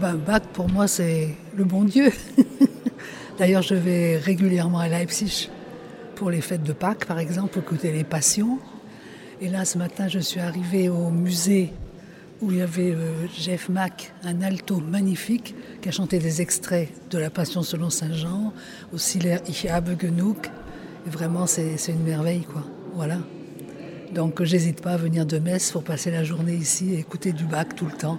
Bach, pour moi, c'est le bon Dieu. D'ailleurs, je vais régulièrement à Leipzig pour les fêtes de Pâques, par exemple, pour écouter les Passions. Et là, ce matin, je suis arrivée au musée où il y avait Jeff Mack, un alto magnifique, qui a chanté des extraits de la Passion selon Saint Jean, aussi l'air Ich habe genug. Et vraiment, c'est une merveille, quoi. Voilà. Donc, j'hésite pas à venir de Metz pour passer la journée ici et écouter du Bach tout le temps.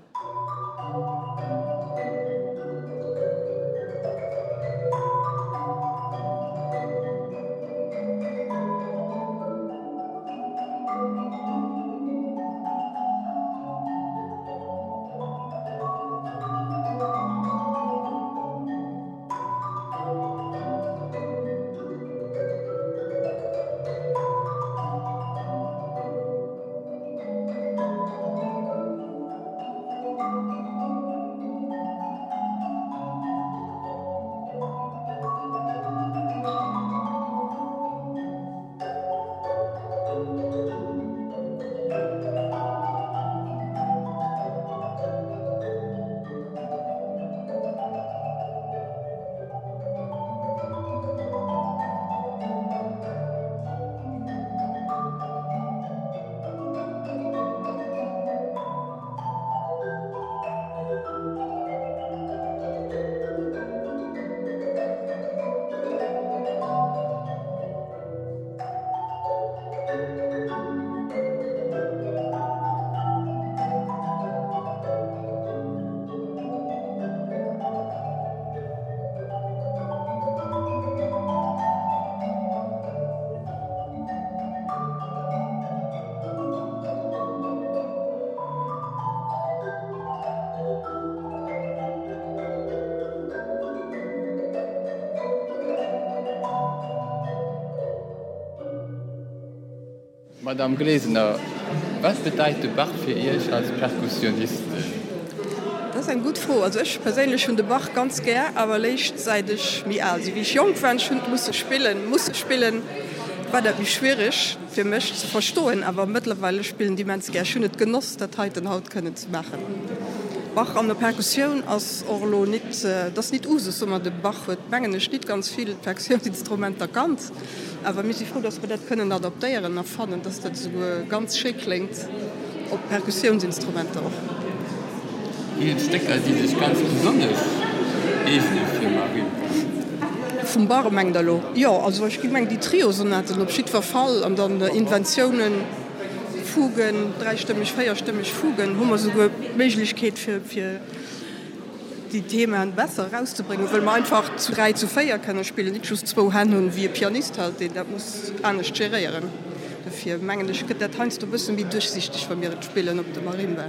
Madame Gläsener, was bedeutet Bach für ihr als Perkussionist? Das ist ein gut froh. Also ich persönlich finde Bach ganz gern, aber leicht seit ich mir also wie ich jung war, musste spielen, war das nicht schwierig für mich zu verstehen, aber mittlerweile spielen die Menschen gerne schön nicht genoss, das heute und heute können zu machen. Bach an der Perkussion als Orlo nicht, das nicht Usus, sondern der Bach wird eigentlich nicht ganz viele Perkussionsinstrumente erkannt. Aber wir sind froh, dass wir das können adaptieren und fanden, dass das so ganz schick klingt, auf Perkussionsinstrumente auch. Hier Stecker, die sich ganz besonders öffnen für Marie. Vom Barmengdalo. Ja, also ich meine die Trio-Sonaten, ob Schiedverfall und dann Inventionen, Fugen, dreistimmig, feierstimmig Fugen, haben wir sogar Möglichkeit für die Themen besser rauszubringen, weil man einfach zu 3 zu 4 kann spielen, nicht schon 2 Hände wie ein Pianist halt, der muss anders gerieren. Dafür meine ich, das kannst du ein bisschen wie durchsichtig von mir spielen auf der Marimba.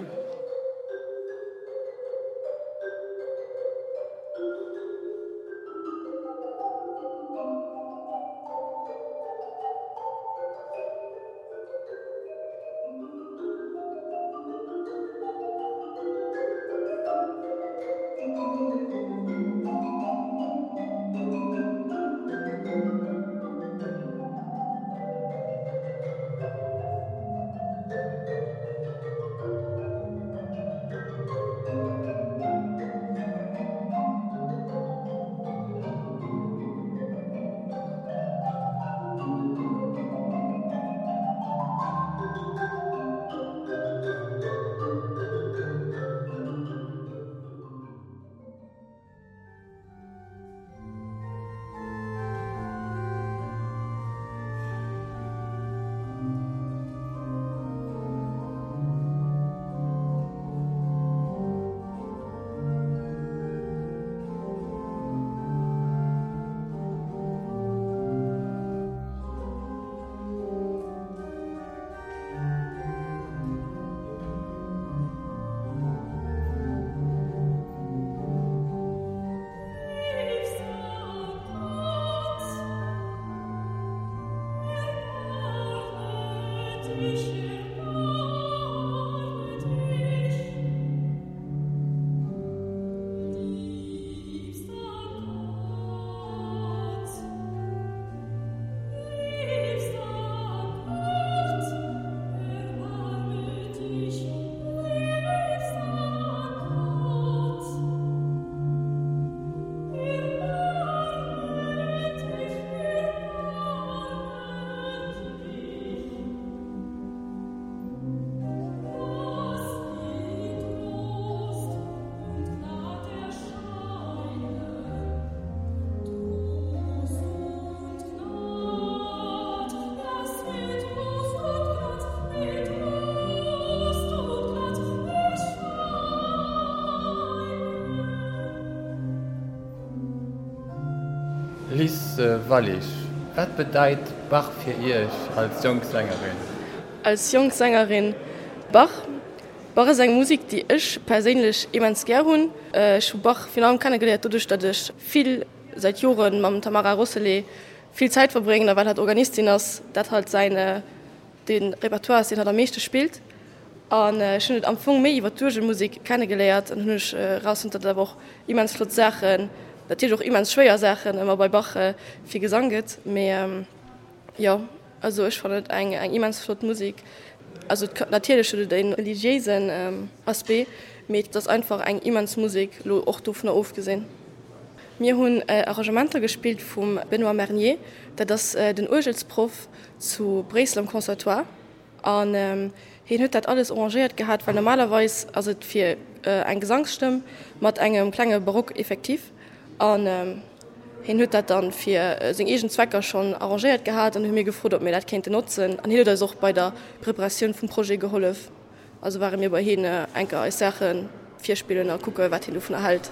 Lies Wallis, was bedeutet Bach für ihr als Jungsängerin? Als Jungsängerin Bach ist eine Musik, die ich persönlich immens gerne habe. Ich habe Bach vor allem kennengelernt, dadurch, dass ich viel seit Jahren mit Tamara Rossele viel Zeit verbringe, weil er Organistin ist, das halt den Repertoire ist, den er am meisten spielt. Und ich habe am Anfang mehr über die Musik kennengelernt und habe ich raus unter der Woche immens viele Sachen, natürlich auch immens schwere Sachen, immer bei Bach viel Gesang geht. Aber ja, also ich fand eine immens flotte Musik. Also natürlich den religiösen Aspekt, aber das ist einfach eine immens Musik, auch davon aufgesehen. Wir haben Arrangementer gespielt von Benoît Mernier, der ist den Urgelsprof zu Breslau am Conservatoire. Und er hat das alles arrangiert gehabt, weil normalerweise also für eine Gesangsstimme mit einem kleinen Barock effektiv. Und er hat das dann für seine eigenen Zwecke schon arrangiert gehabt und hat mir gefragt, ob wir das könnte nutzen. Und er hat uns auch bei der Präparation vom Projekt geholfen. Also waren wir bei ihm einfach Sachen, 4 Spiele und gucken, was er davon erhält.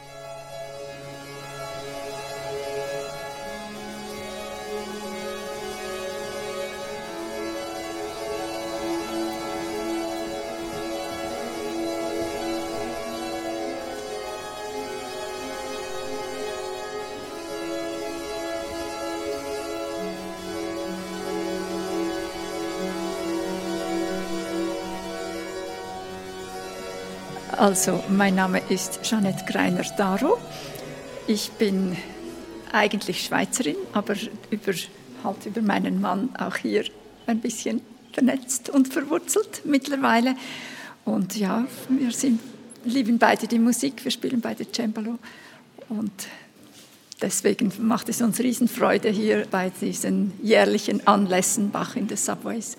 Also, mein Name ist Jeanette Greiner-Daro. Ich bin eigentlich Schweizerin, aber über meinen Mann auch hier ein bisschen vernetzt und verwurzelt mittlerweile. Und ja, wir lieben beide die Musik, wir spielen beide Cembalo. Und deswegen macht es uns Riesenfreude, hier bei diesen jährlichen Anlässen Bach in the Subways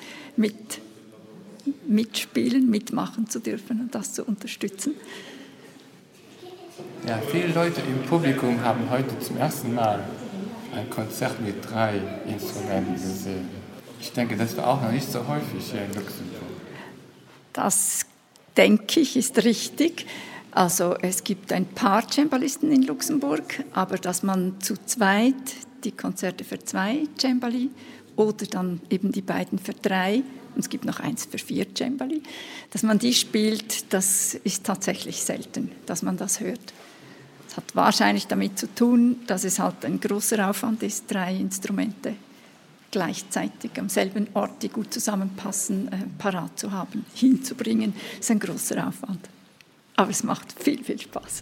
mitspielen, mitmachen zu dürfen und das zu unterstützen. Ja, viele Leute im Publikum haben heute zum ersten Mal ein Konzert mit 3 Instrumenten gesehen. Ich denke, das war auch noch nicht so häufig hier in Luxemburg. Das, denke ich, ist richtig. Also es gibt ein paar Cembalisten in Luxemburg, aber dass man zu zweit die Konzerte für 2 Cembali oder dann eben die beiden für 3, und es gibt noch eins für 4 Cembali, dass man die spielt, das ist tatsächlich selten, dass man das hört. Es hat wahrscheinlich damit zu tun, dass es halt ein großer Aufwand ist, 3 Instrumente gleichzeitig am selben Ort, die gut zusammenpassen, parat zu haben, hinzubringen. Das ist ein großer Aufwand. Aber es macht viel, viel Spaß.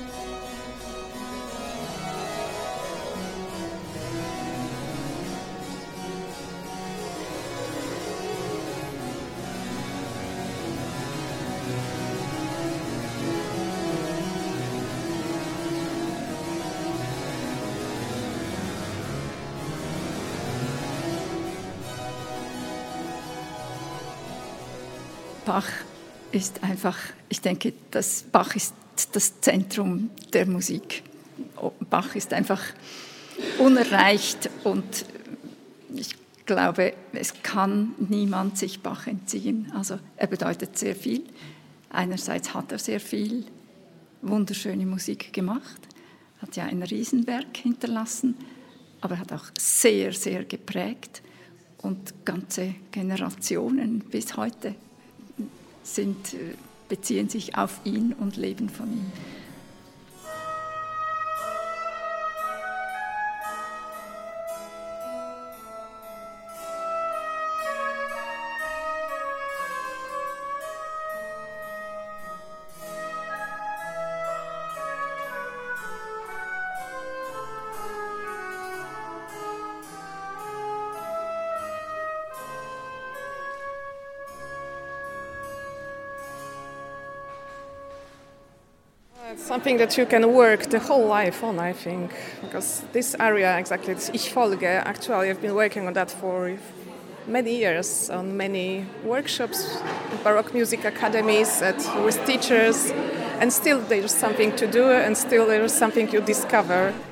Bach ist einfach, ich denke, Bach ist das Zentrum der Musik. Bach ist einfach unerreicht und ich glaube, es kann niemand sich Bach entziehen. Also er bedeutet sehr viel. Einerseits hat er sehr viel wunderschöne Musik gemacht, hat ja ein Riesenwerk hinterlassen, aber er hat auch sehr, sehr geprägt und ganze Generationen bis heute beziehen sich auf ihn und leben von ihm. It's something that you can work the whole life on, I think, because this area, exactly, this Ich Folge, actually I've been working on that for many years, on many workshops, Baroque music academies, with teachers, and still there's something to do, and still there's something you discover.